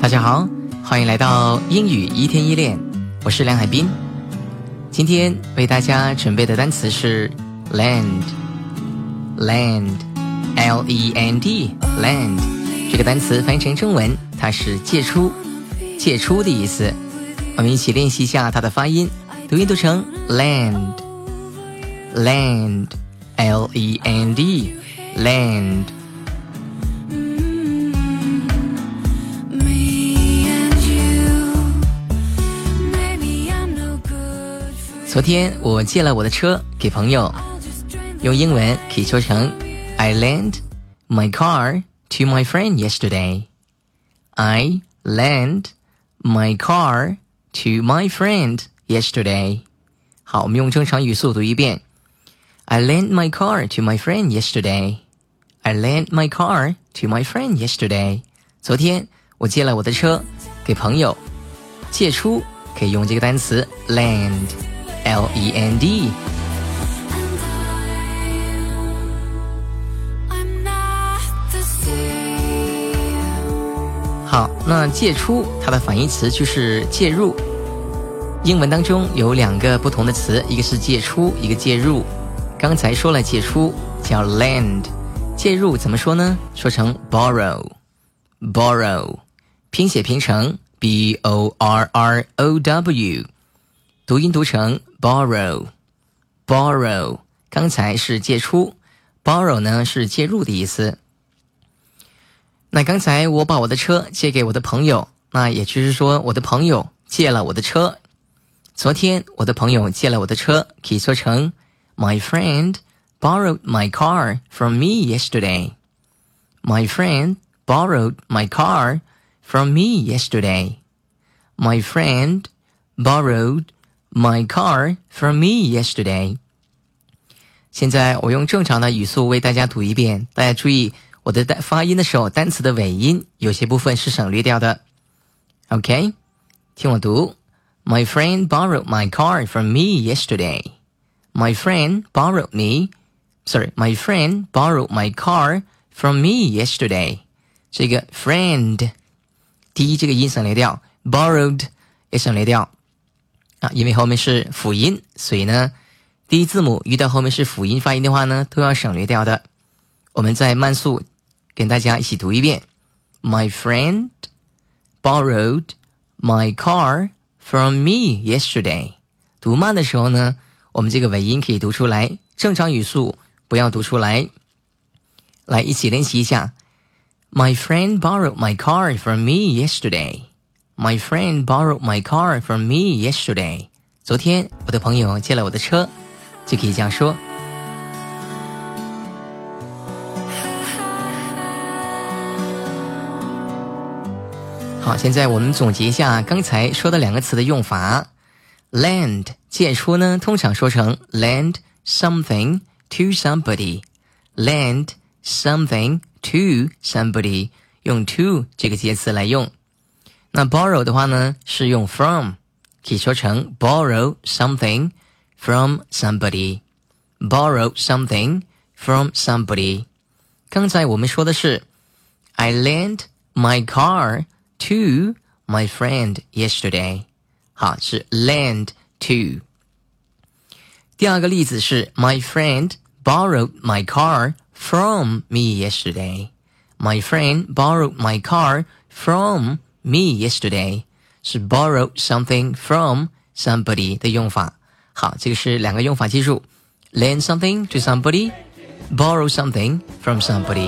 大家好，欢迎来到英语一天一练，我是梁海滨。今天为大家准备的单词是 land L-E-N-D land 这个单词翻译成中文，它是借出的意思。我们一起练习一下它的发音，读音读成 land L-E-N-D land。昨天我借了我的车给朋友，用英文可以说成 I lent my car to my friend yesterday. I lent my car to my friend yesterday. 好，我们用正常语速读一遍 I lent my car to my friend yesterday. I lent my car to my friend yesterday. 昨天我借了我的车给朋友，借出可以用这个单词 lend L-E-N-D。 好，那借出它的反义词就是介入。英文当中有两个不同的词，一个是借出，一个介入。刚才说了借出叫 lend， 介入怎么说呢？说成 borrow， 拼写拼成 B-O-R-R-O-W， 读音读成 borrow。 刚才是借出， borrow 呢是介入的意思。那刚才我把我的车借给我的朋友，那也就是说我的朋友借了我的车。昨天我的朋友借了我的车，可以说成 My friend borrowed my car from me yesterday. My friend borrowed my car from me yesterday. My friend borrowed my car from me yesterday. 现在我用正常的语速为大家读一遍，大家注意我的发音的时候，单词的尾音有些部分是省略掉的。 OK， 听我读 My friend borrowed my car from me yesterday. My friend borrowed my car from me yesterday. 这个 friend 第一这个音省略掉， borrowed 也省略掉因为后面是辅音，所以呢第一字母遇到后面是辅音发音的话呢都要省略掉的。我们再慢速跟大家一起读一遍 My friend borrowed my car from me yesterday. 读慢的时候呢，我们这个尾音可以读出来，正常语速不要读出来。来，一起练习一下 My friend borrowed my car from me yesterday. My friend borrowed my car from me yesterday. 昨天我的朋友借了我的车，就可以这样说。好，现在我们总结一下刚才说的两个词的用法。lend 借出呢，通常说成 lend something to somebody. Lend something to somebody， 用 to 这个介词来用。那 borrow 的话呢，是用 from， 可以说成 borrow something from somebody. Borrow something from somebody. 刚才我们说的是 I lent my car to my friend yesterday. 好，是 lend to。 第二个例子是 My friend borrowed my car from me yesterday. My friend borrowed my car from me yesterday. 是 borrow something from somebody 的用法。好，这个是两个用法，记住 lend something to somebody, borrow something from somebody。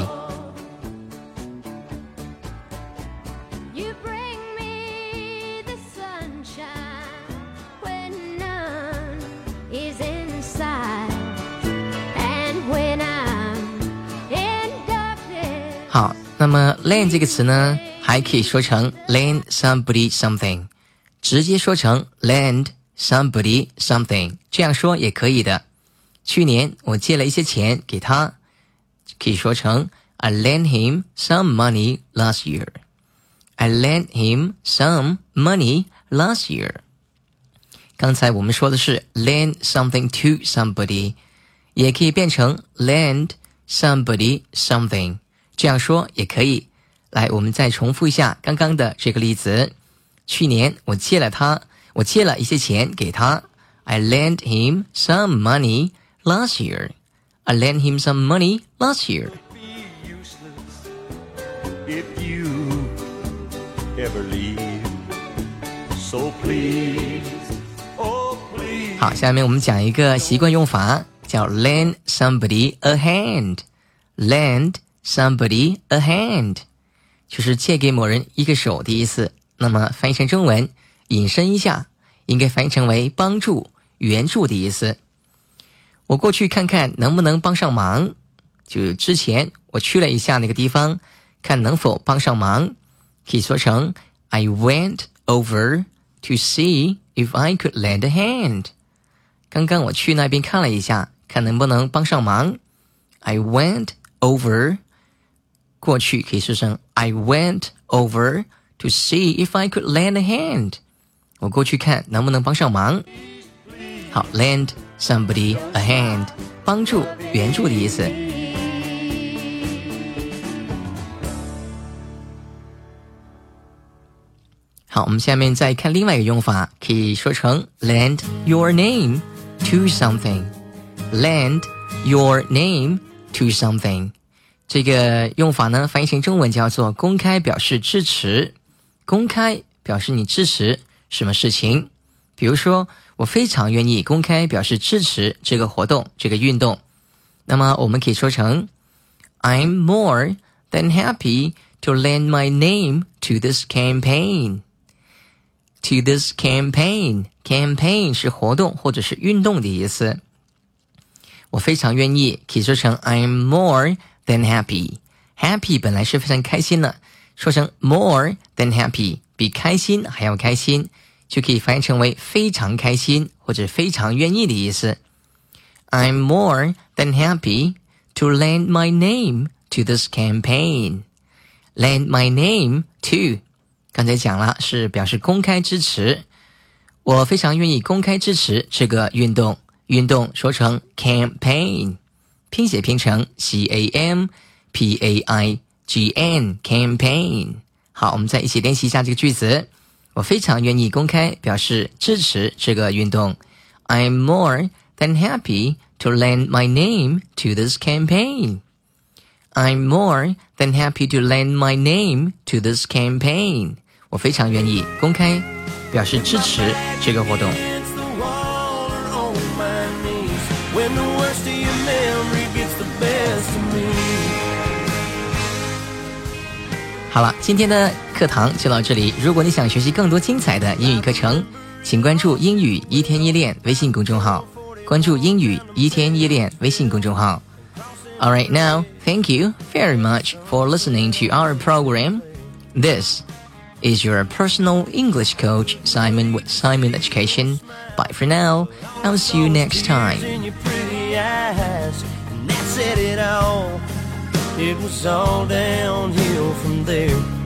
好，那么 lend 这个词呢，还可以说成 lend somebody something， 直接说成 lend somebody something， 这样说也可以的。去年我借了一些钱给他，可以说成 I lent him some money last year. I lent him some money last year. 刚才我们说的是 lend something to somebody， 也可以变成 lend somebody something， 这样说也可以来，我们再重复一下刚刚的这个例子。去年我借了一些钱给他。I lent him some money last year. I lent him some money last year. If you ever leave, so please, oh please. 好，下面我们讲一个习惯用法，叫 lend somebody a hand. Lend somebody a hand. 就是借给某人一个手的意思。那么翻译成中文，引申一下，应该翻译成为帮助、援助的意思。我过去看看能不能帮上忙，就之前我去了一下那个地方，看能否帮上忙，可以说成 I went over to see if I could lend a hand. 刚刚我去那边看了一下，看能不能帮上忙。I went over 过去可以说成 I went over to see if I could lend a hand. 我过去看能不能帮上忙。好 lend somebody a hand 帮助援助的意思。好，我们下面再看另外一个用法，可以说成 lend your name to something. Lend your name to something. 这个用法呢，翻译成中文叫做公开表示支持。公开表示你支持什么事情，比如说我非常愿意公开表示支持这个活动，这个运动。那么我们可以说成 I'm more than happy to lend my name to this campaign. To this campaign. Campaign 是活动或者是运动的意思。我非常愿意可以说成 I'm more than happy. Happy 本来是非常开心的，说成 more than happy 比开心还要开心，就可以翻译成为非常开心或者非常愿意的意思。I'm more than happy to lend my name to this campaign. Lend my name to 刚才讲了是表示公开支持，我非常愿意公开支持这个运动。运动说成 campaign， 拼写拼成 campaign campaign。 好，我们再一起练习一下这个句子。我非常愿意公开表示支持这个运动。 I'm more than happy to lend my name to this campaign. I'm more than happy to lend my name to this campaign. 我非常愿意公开表示支持这个活动。 When the worst of your memory gets the best of me. 好了，今天的课堂就到这里。如果你想学习更多精彩的英语课程，请关注英语一天一练微信公众号，关注英语一天一练微信公众号。Alright, now, thank you very much for listening to our program. This is your personal English coach, Simon with Simon Education. Bye for now. I'll see you next time. In your pretty eyes, and that said it all. It was all downhill from there.